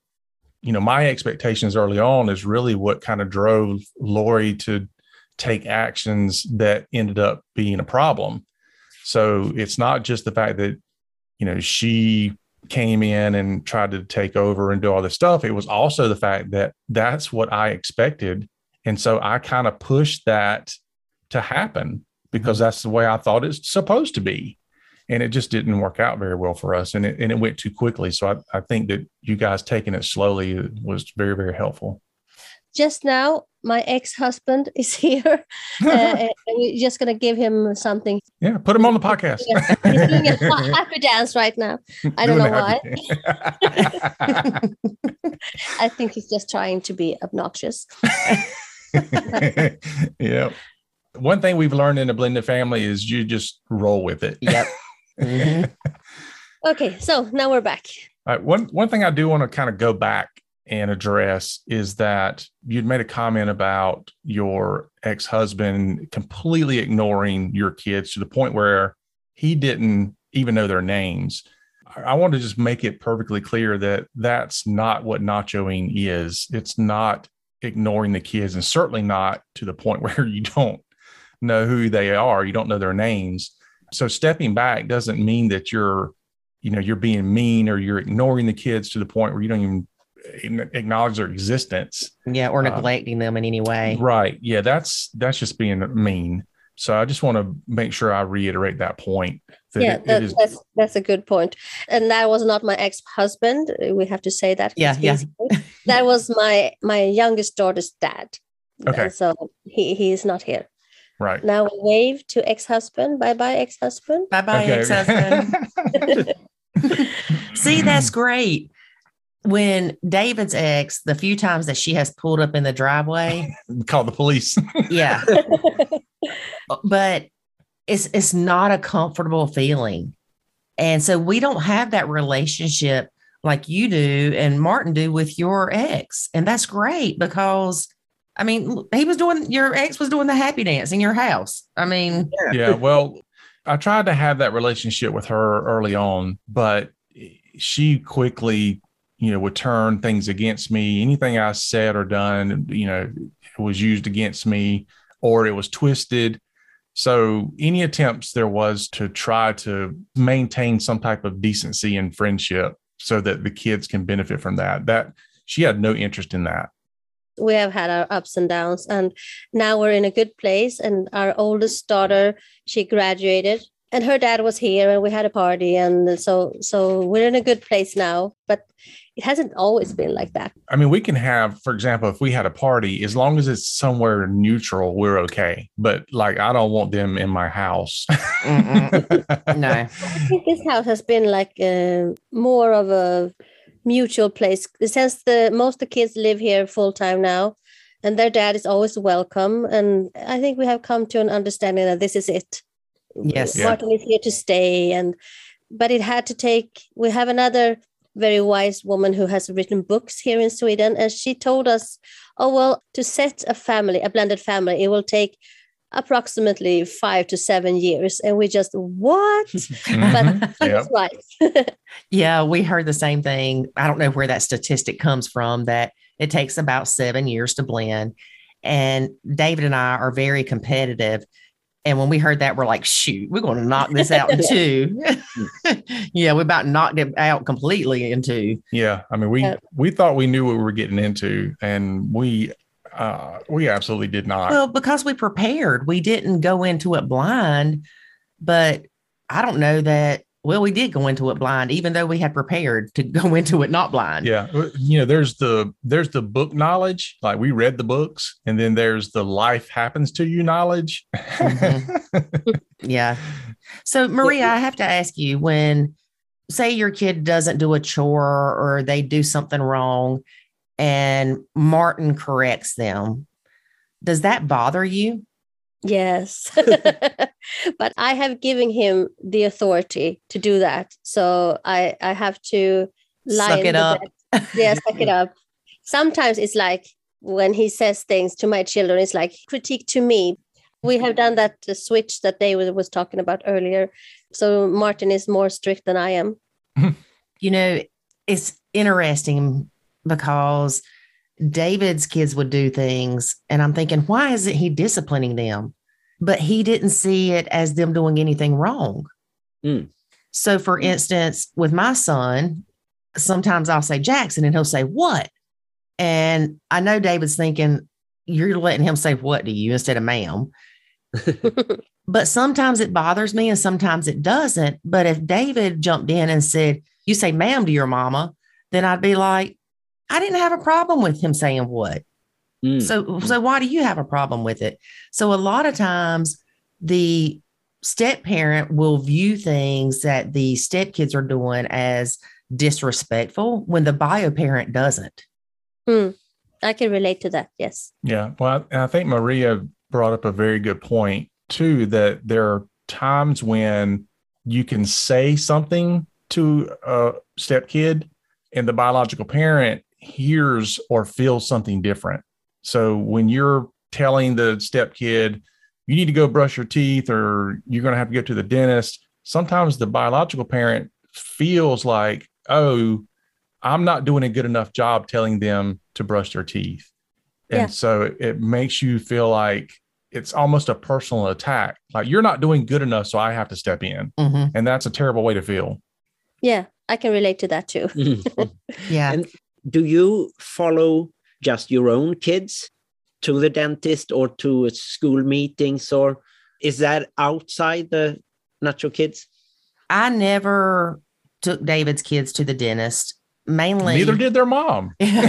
my expectations early on is really what kind of drove Lori to take actions that ended up being a problem. So it's not just the fact that, she came in and tried to take over and do all this stuff. It was also the fact that that's what I expected. And so I kind of pushed that to happen because that's the way I thought it's supposed to be. And it just didn't work out very well for us. And it went too quickly. So I think that you guys taking it slowly was very, very helpful. Just now, my ex-husband is here. And we're just going to give him something. Yeah, put him on the podcast. He's doing a happy dance right now. I don't know why. I think he's just trying to be obnoxious. Yeah. One thing we've learned in the blended family is you just roll with it. Yep. Mm-hmm. Okay, so now we're back. All right, one thing I do want to kind of go back and address is that you'd made a comment about your ex-husband completely ignoring your kids to the point where he didn't even know their names. I want to just make it perfectly clear that that's not what nachoing is. It's not ignoring the kids, and certainly not to the point where you don't know who they are. You don't know their names. So stepping back doesn't mean that you're being mean or you're ignoring the kids to the point where you don't even acknowledge their existence. Yeah, or neglecting them in any way. Right. Yeah, that's just being mean. So I just want to make sure I reiterate that point. That's a good point. And that was not my ex-husband. We have to say that. Yeah. That was my youngest daughter's dad. Okay. And so he is not here. Right. Now we wave to ex-husband. Bye-bye, ex-husband. Bye-bye, ex-husband. See, that's great. When David's ex, the few times that she has pulled up in the driveway, call the police. Yeah. But it's not a comfortable feeling. And so we don't have that relationship like you do and Martin do with your ex. And that's great because, I mean, your ex was doing the happy dance in your house. I mean, yeah, well, I tried to have that relationship with her early on, but she quickly, would turn things against me. Anything I said or done, was used against me or it was twisted. So any attempts there was to try to maintain some type of decency and friendship so that the kids can benefit from that she had no interest in that. We have had our ups and downs, and now we're in a good place. And our oldest daughter, she graduated and her dad was here and we had a party. And so we're in a good place now, but it hasn't always been like that. I mean, we can have, for example, if we had a party, as long as it's somewhere neutral, we're okay. But like, I don't want them in my house. No. I think this house has been like more of a mutual place. Since most of the kids live here full time now, and their dad is always welcome. And I think we have come to an understanding that this is it. Yes. Martin is here to stay. But it had to take, we have another very wise woman who has written books here in Sweden. And she told us, to set a blended family, it will take approximately 5 to 7 years. And we just, what? But that's right. Yeah, we heard the same thing. I don't know where that statistic comes from, that it takes about 7 years to blend. And David and I are very competitive. And when we heard that, we're like, shoot, we're going to knock this out in 2. Yeah, we about knocked it out completely in 2. Yeah. I mean, we thought we knew what we were getting into, and we absolutely did not. Well, because we prepared, we didn't go into it blind, but I don't know that. Well, we did go into it blind, even though we had prepared to go into it not blind. Yeah. There's the book knowledge, like we read the books, and then there's the life happens to you knowledge. Mm-hmm. Yeah. So Maria, I have to ask you, when say your kid doesn't do a chore or they do something wrong and Martin corrects them, does that bother you? Yes. But I have given him the authority to do that. So I have to suck it up. Yeah, suck it up. Sometimes it's like when he says things to my children, it's like critique to me. We have done that switch that David was talking about earlier. So Martin is more strict than I am. It's interesting because David's kids would do things and I'm thinking, why isn't he disciplining them? But he didn't see it as them doing anything wrong. So for instance, with my son, sometimes I'll say Jackson and he'll say, what? And I know David's thinking, you're letting him say what to you instead of ma'am. But sometimes it bothers me and sometimes it doesn't. But if David jumped in and said, you say ma'am to your mama, then I'd be like, I didn't have a problem with him saying what. So why do you have a problem with it? So a lot of times the step parent will view things that the step kids are doing as disrespectful when the bio parent doesn't. I can relate to that. Yes. Yeah. Well, I think Maria brought up a very good point too, that there are times when you can say something to a step kid and the biological parent hears or feels something different. So when you're telling the step kid, you need to go brush your teeth or you're going to have to go to the dentist, sometimes the biological parent feels like, oh, I'm not doing a good enough job telling them to brush their teeth. And so it makes you feel like it's almost a personal attack. Like, you're not doing good enough, so I have to step in. And that's a terrible way to feel. Yeah, I can relate to that too. Yeah. And do you follow just your own kids to the dentist or to school meetings, or is that outside the Nacho Kids? I never took David's kids to the dentist. Mainly, Neither did their mom.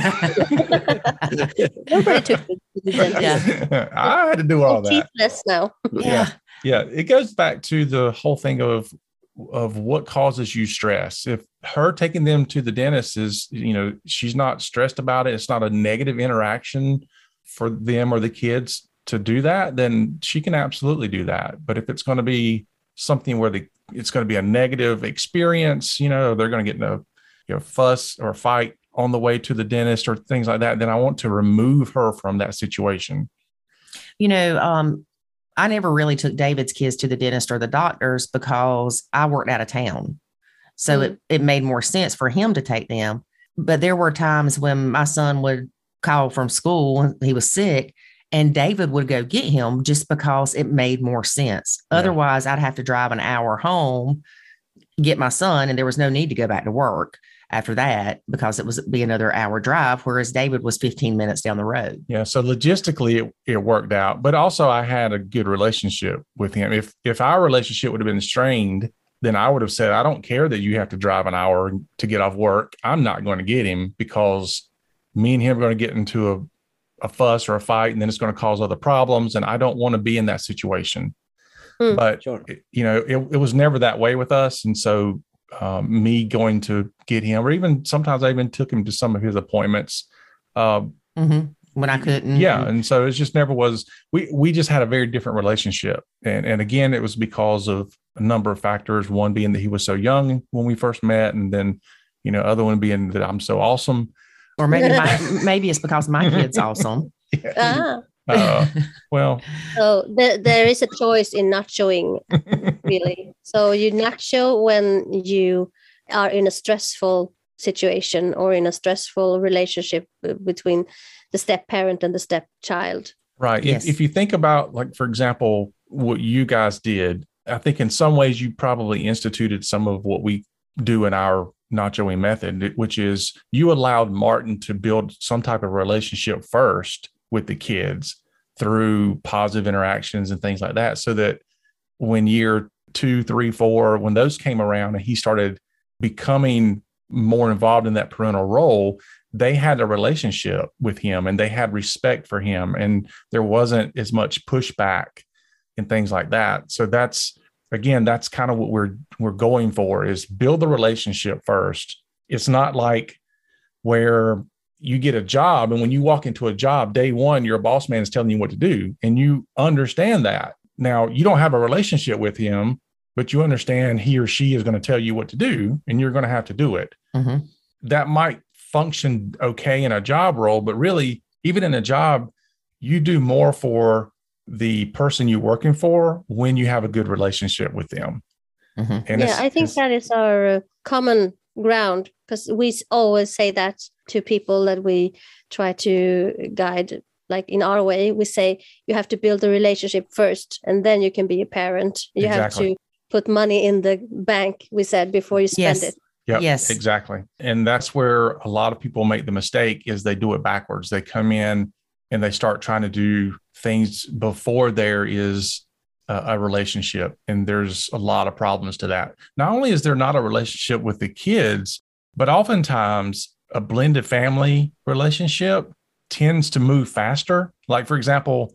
Nobody took me to the dentist. Yeah. I had to do all that. Teethless now. Yeah. Yeah. It goes back to the whole thing of what causes you stress. If her taking them to the dentist is, she's not stressed about it, it's not a negative interaction for them or the kids to do that, then she can absolutely do that. But if it's going to be something where it's going to be a negative experience, they're going to get in a fuss or fight on the way to the dentist or things like that, then I want to remove her from that situation. I never really took David's kids to the dentist or the doctors because I worked out of town. So it made more sense for him to take them. But there were times when my son would call from school and he was sick, and David would go get him just because it made more sense. Yeah. Otherwise, I'd have to drive an hour home, get my son, and there was no need to go back to work after that because it was be another hour drive, whereas David was 15 minutes down the road. Yeah. So logistically it worked out, but also I had a good relationship with him. If our relationship would have been strained, then I would have said, I don't care that you have to drive an hour to get off work. I'm not going to get him because me and him are going to get into a fuss or a fight, and then it's going to cause other problems. And I don't want to be in that situation. But, sure. It was never that way with us. And so me going to get him, or even sometimes I even took him to some of his appointments when I couldn't. Yeah. And so it just never was, we just had a very different relationship. And again, it was because of a number of factors, one being that he was so young when we first met. And then, other one being that I'm so awesome. Or maybe it's because my kid's awesome. Yeah. Well, so there is a choice in not showing, really. So you not show when you are in a stressful situation or in a stressful relationship between the step parent and the stepchild. Right. Yes. If you think about, like, for example, what you guys did, I think in some ways you probably instituted some of what we do in our Nachoing method, which is you allowed Martin to build some type of relationship first with the kids through positive interactions and things like that, so that when year 2, 3, 4, when those came around and he started becoming more involved in that parental role, they had a relationship with him and they had respect for him, and there wasn't as much pushback and things like that. So that's kind of what we're going for, is build the relationship first. It's not like where you get a job, and when you walk into a job, day one, your boss man is telling you what to do, and you understand that. Now, you don't have a relationship with him, but you understand he or she is going to tell you what to do, and you're going to have to do it. Mm-hmm. That might function okay in a job role, but really, even in a job, you do more for the person you're working for when you have a good relationship with them. Mm-hmm. And I think that is our common ground, because we always say that to people that we try to guide. Like in our way, we say you have to build a relationship first, and then you can be a parent. You have to put money in the bank, we said, before you spend it. Yep, yes, exactly. And that's where a lot of people make the mistake, is they do it backwards. They come in and they start trying to do things before there is a relationship. And there's a lot of problems to that. Not only is there not a relationship with the kids, but oftentimes a blended family relationship tends to move faster. Like, for example,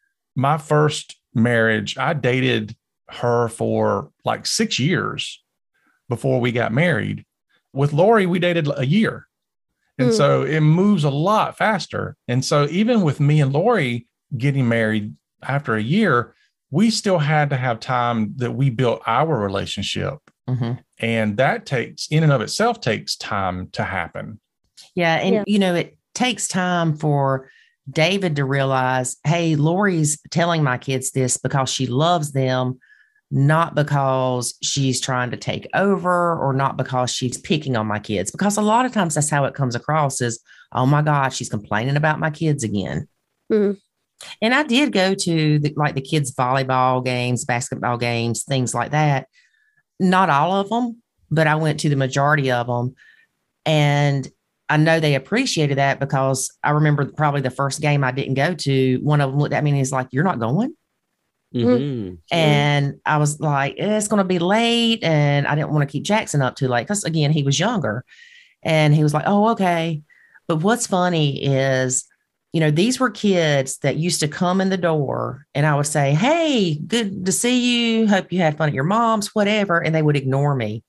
my first marriage, I dated her for like 6 years before we got married. With Lori, we dated a year. And so it moves a lot faster. And so even with me and Lori getting married after a year, we still had to have time that we built our relationship. Mm-hmm. And that takes, in and of itself, takes time to happen. Yeah. And, it takes time for David to realize, hey, Lori's telling my kids this because she loves them, not because she's trying to take over or not because she's picking on my kids. Because a lot of times that's how it comes across, is, oh my God, she's complaining about my kids again. Mm. And I did go to the kids' volleyball games, basketball games, things like that. Not all of them, but I went to the majority of them. And I know they appreciated that because I remember probably the first game I didn't go to, one of them looked at me and he's like, "You're not going?" Mm-hmm. And I was like, it's going to be late. And I didn't want to keep Jackson up too late because, again, he was younger. And he was like, "Oh, okay." But what's funny is, these were kids that used to come in the door and I would say, "Hey, good to see you. Hope you had fun at your mom's," whatever. And they would ignore me.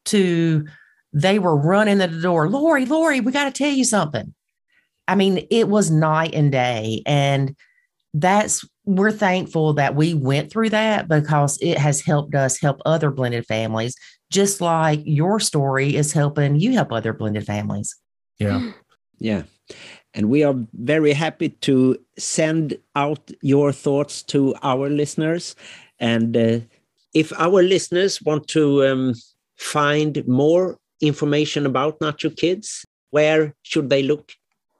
They were running to the door. Lori, we got to tell you something. I mean, it was night and day. And we're thankful that we went through that because it has helped us help other blended families, just like your story is helping you help other blended families. Yeah. Yeah. And we are very happy to send out your thoughts to our listeners. And if our listeners want to find more information about Nacho Kids, where should they look?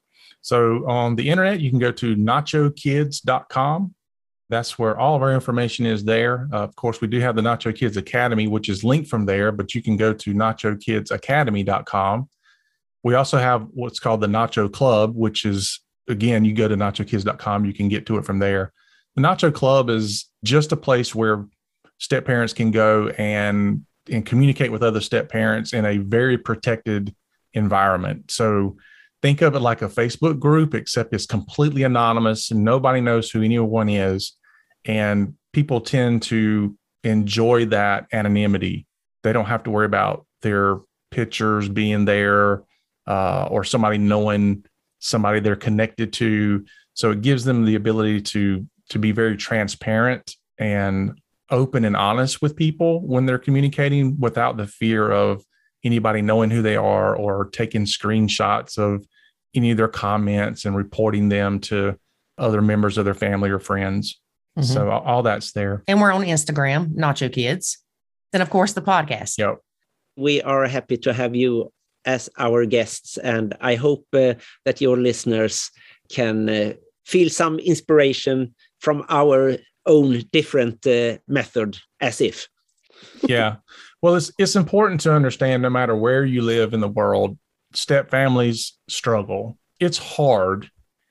So on the internet, you can go to nachokids.com. That's where all of our information is there. Of course, we do have the Nacho Kids Academy, which is linked from there, but you can go to nachokidsacademy.com. We also have what's called the Nacho Club, which is, again, you go to nachokids.com, you can get to it from there. The Nacho Club is just a place where step parents can go and communicate with other step parents in a very protected environment. So think of it like a Facebook group, except it's completely anonymous and nobody knows who anyone is. And people tend to enjoy that anonymity. They don't have to worry about their pictures being there or somebody knowing somebody they're connected to. So it gives them the ability to be very transparent and open and honest with people when they're communicating without the fear of anybody knowing who they are or taking screenshots of any of their comments and reporting them to other members of their family or friends. Mm-hmm. So all that's there. And we're on Instagram, Nacho Kids. Then, of course, the podcast. Yep. We are happy to have you as our guests. And I hope that your listeners can feel some inspiration from our own different method, as if. Yeah. Well, it's important to understand no matter where you live in the world, step families struggle. It's hard.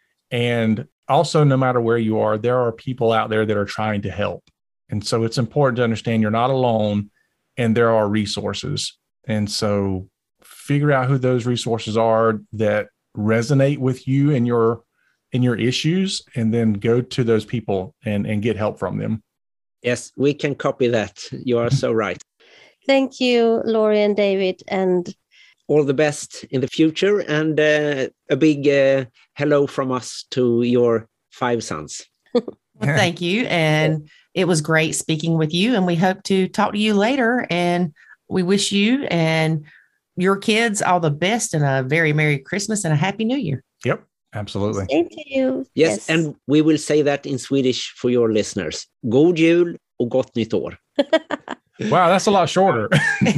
And also, no matter where you are, there are people out there that are trying to help. And so it's important to understand you're not alone and there are resources. And so figure out who those resources are that resonate with you and your issues, and then go to those people and get help from them. Yes, we can copy that. You are so right. Thank you, Lori and David, and all the best in the future. And a big hello from us to your 5 sons. Well, thank you. And it was great speaking with you. And we hope to talk to you later. And we wish you and your kids all the best and a very Merry Christmas and a Happy New Year. Yep. Absolutely. Same to you. Yes, and we will say that in Swedish for your listeners. God jul och gott nytt år. Wow, that's a lot shorter.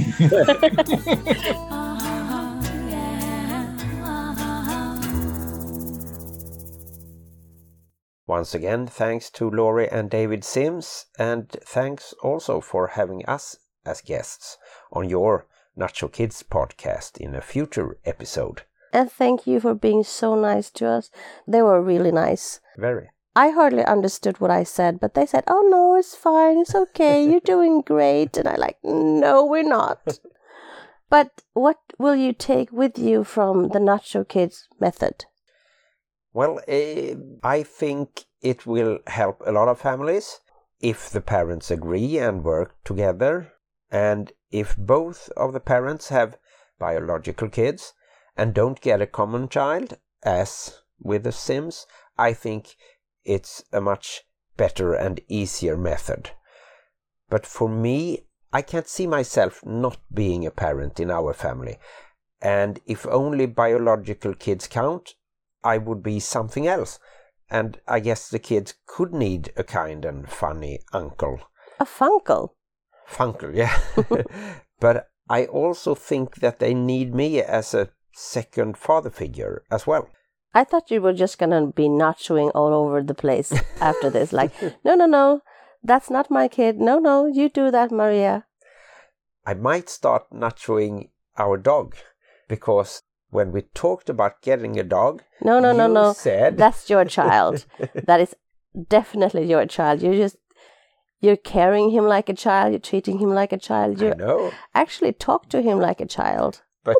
Once again, thanks to Lori and David Sims, and thanks also for having us as guests on your Nacho Kids podcast in a future episode. And thank you for being so nice to us. They were really nice. Very. I hardly understood what I said, but they said, "Oh no, it's fine, it's okay, you're doing great." And I like, "No, we're not." But what will you take with you from the Nacho Kids method? Well, I think it will help a lot of families if the parents agree and work together. And if both of the parents have biological kids and don't get a common child, as with the Sims, I think it's a much better and easier method. But for me, I can't see myself not being a parent in our family. And if only biological kids count, I would be something else. And I guess the kids could need a kind and funny uncle. A funkle? Funkle, yeah. But I also think that they need me as a second father figure as well. I thought you were just going to be nachoing all over the place after this. Like, no, that's not my kid. No, you do that, Maria. I might start nachoing our dog, because when we talked about getting a dog, no, said... that's your child. That is definitely your child. You're carrying him like a child. You're treating him like a child. You actually talk to him like a child. But,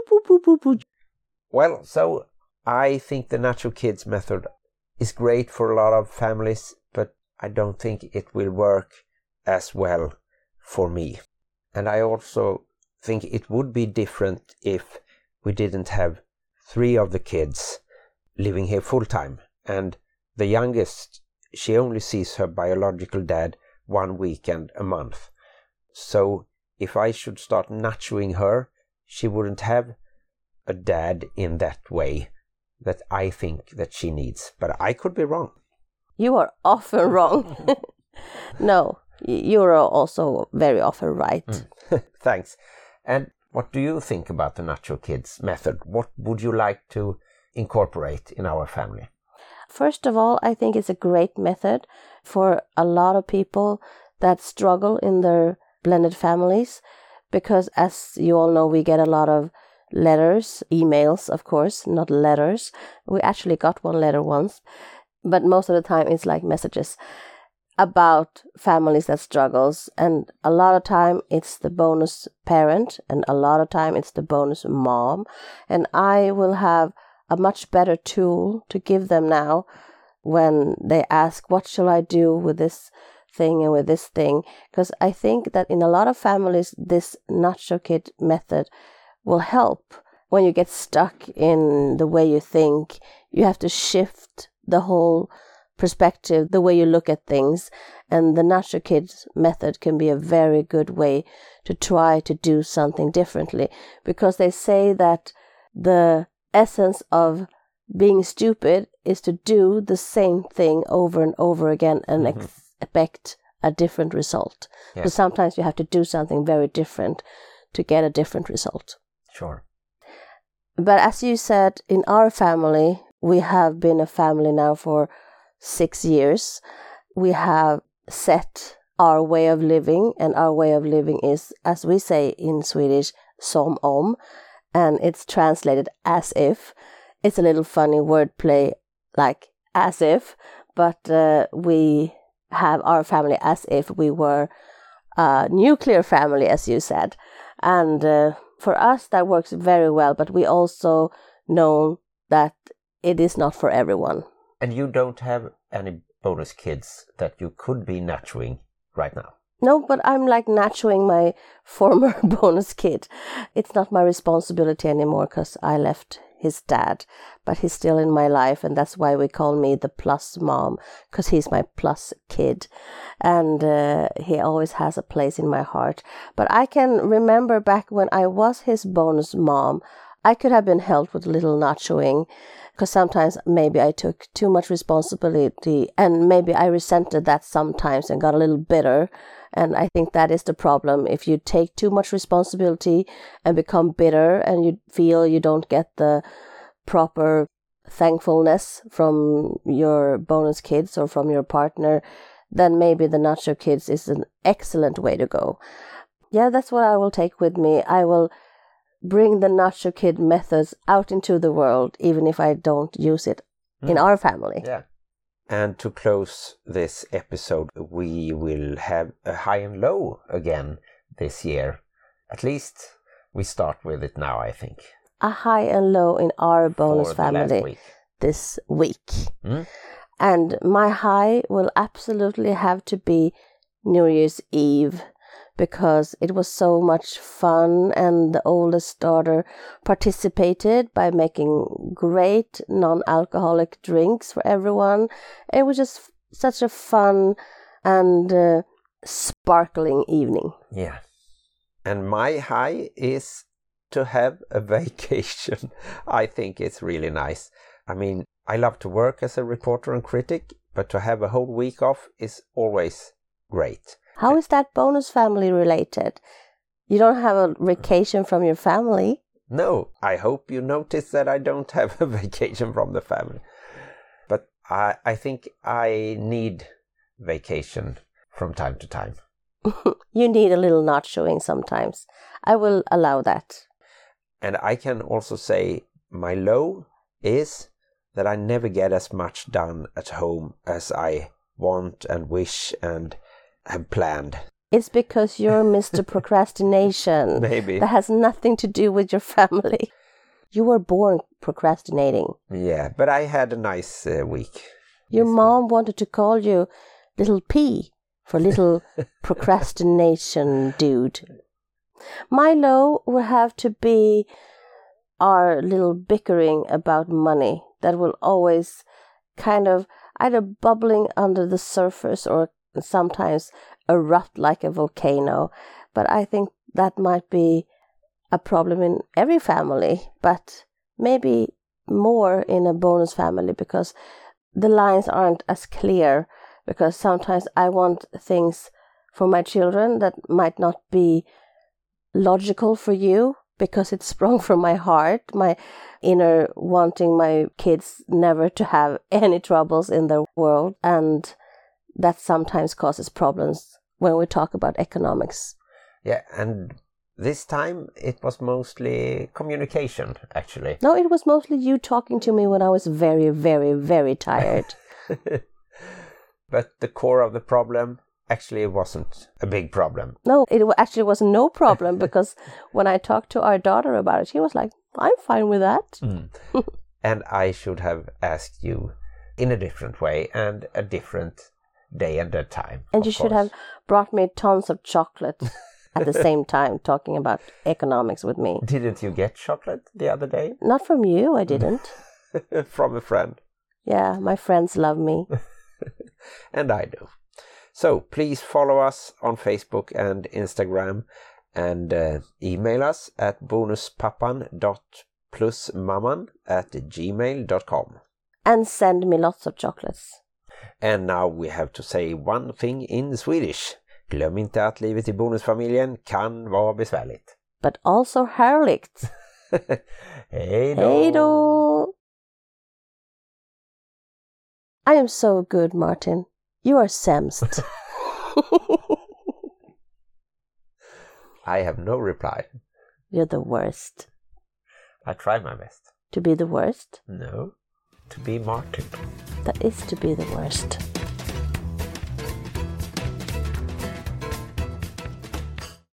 well, so I think the Nacho Kids method is great for a lot of families, but I don't think it will work as well for me. And I also think it would be different if we didn't have 3 of the kids living here full time. And the youngest, she only sees her biological dad 1 weekend a month. So if I should start nachoing her, she wouldn't have a dad in that way that I think that she needs. But I could be wrong. You are often wrong. No, you're also very often right. Thanks. And what do you think about the Nacho Kids method? What would you like to incorporate in our family? First of all, I think it's a great method for a lot of people that struggle in their blended families, because as you all know, we get a lot of letters, emails, of course, not letters. We actually got one letter once, but most of the time it's like messages about families that struggles, and a lot of time it's the bonus parent, and a lot of time it's the bonus mom, and I will have a much better tool to give them now when they ask, what shall I do with this thing and with this thing? Because I think that in a lot of families this Nacho Kid method will help. When you get stuck in the way you think, you have to shift the whole perspective, the way you look at things, and the Nacho Kids method can be a very good way to try to do something differently, because they say that the essence of being stupid is to do the same thing over and over again and expect a different result. Yes. So sometimes you have to do something very different to get a different result. Sure. But as you said, in our family, we have been a family now for 6 years. We have set our way of living, and our way of living is, as we say in Swedish, som om, and it's translated as if. It's a little funny wordplay, like as if, but we have our family as if we were a nuclear family, as you said. And for us, that works very well, but we also know that it is not for everyone. And you don't have any bonus kids that you could be nachoing right now? No, but I'm like nachoing my former bonus kid. It's not my responsibility anymore because I left his dad, but he's still in my life, and that's why we call me the plus mom, because he's my plus kid, and he always has a place in my heart. But I can remember back when I was his bonus mom, I could have been helped with a little nachoing, because sometimes maybe I took too much responsibility, and maybe I resented that sometimes and got a little bitter. And I think that is the problem. If you take too much responsibility and become bitter, and you feel you don't get the proper thankfulness from your bonus kids or from your partner, then maybe the Nacho Kids is an excellent way to go. Yeah, that's what I will take with me. I will bring the Nacho Kid methods out into the world, even if I don't use it in our family. Yeah. And to close this episode, we will have a high and low again this year. At least we start with it now, I think. A high and low in our bonus family this week. And my high will absolutely have to be New Year's Eve, because it was so much fun, and the oldest daughter participated by making great non-alcoholic drinks for everyone. It was just such a fun and sparkling evening. Yeah. And my high is to have a vacation. I think it's really nice. I mean, I love to work as a reporter and critic, but to have a whole week off is always great. How is that bonus family related? You don't have a vacation from your family? No, I hope you notice that I don't have a vacation from the family. But I think I need vacation from time to time. You need a little nachoing sometimes. I will allow that. And I can also say my low is that I never get as much done at home as I want and wish and have planned. It's because you're Mr. Procrastination. Maybe. That has nothing to do with your family. You were born procrastinating. Yeah, but I had a nice week. Your mom wanted to call you Little P for little procrastination dude. My low will have to be our little bickering about money that will always kind of either bubbling under the surface or sometimes erupt like a volcano. But I think that might be a problem in every family, but maybe more in a bonus family because the lines aren't as clear, because sometimes I want things for my children that might not be logical for you because it's sprung from my heart, my inner wanting my kids never to have any troubles in their world, and that sometimes causes problems when we talk about economics. Yeah, and this time it was mostly communication, actually. No, it was mostly you talking to me when I was very, very, very tired. But the core of the problem actually wasn't a big problem. No, it actually was no problem because when I talked to our daughter about it, she was like, I'm fine with that. And I should have asked you in a different way and a different day and a time. And you should have brought me tons of chocolate at the same time talking about economics with me. Didn't you get chocolate the other day? Not from you, I didn't. From a friend. Yeah, my friends love me. And I do. So please follow us on Facebook and Instagram and email us at bonuspappan.plusmamman@gmail.com. And send me lots of chocolates. And now we have to say one thing in Swedish. Glöm inte att livet i bonusfamiljen kan vara besvärligt. But also härligt. Hej då! Hej då! I am so good, Martin. You are sämst. I have no reply. You're the worst. I try my best. To be the worst? No, to be Martin. That is to be the worst.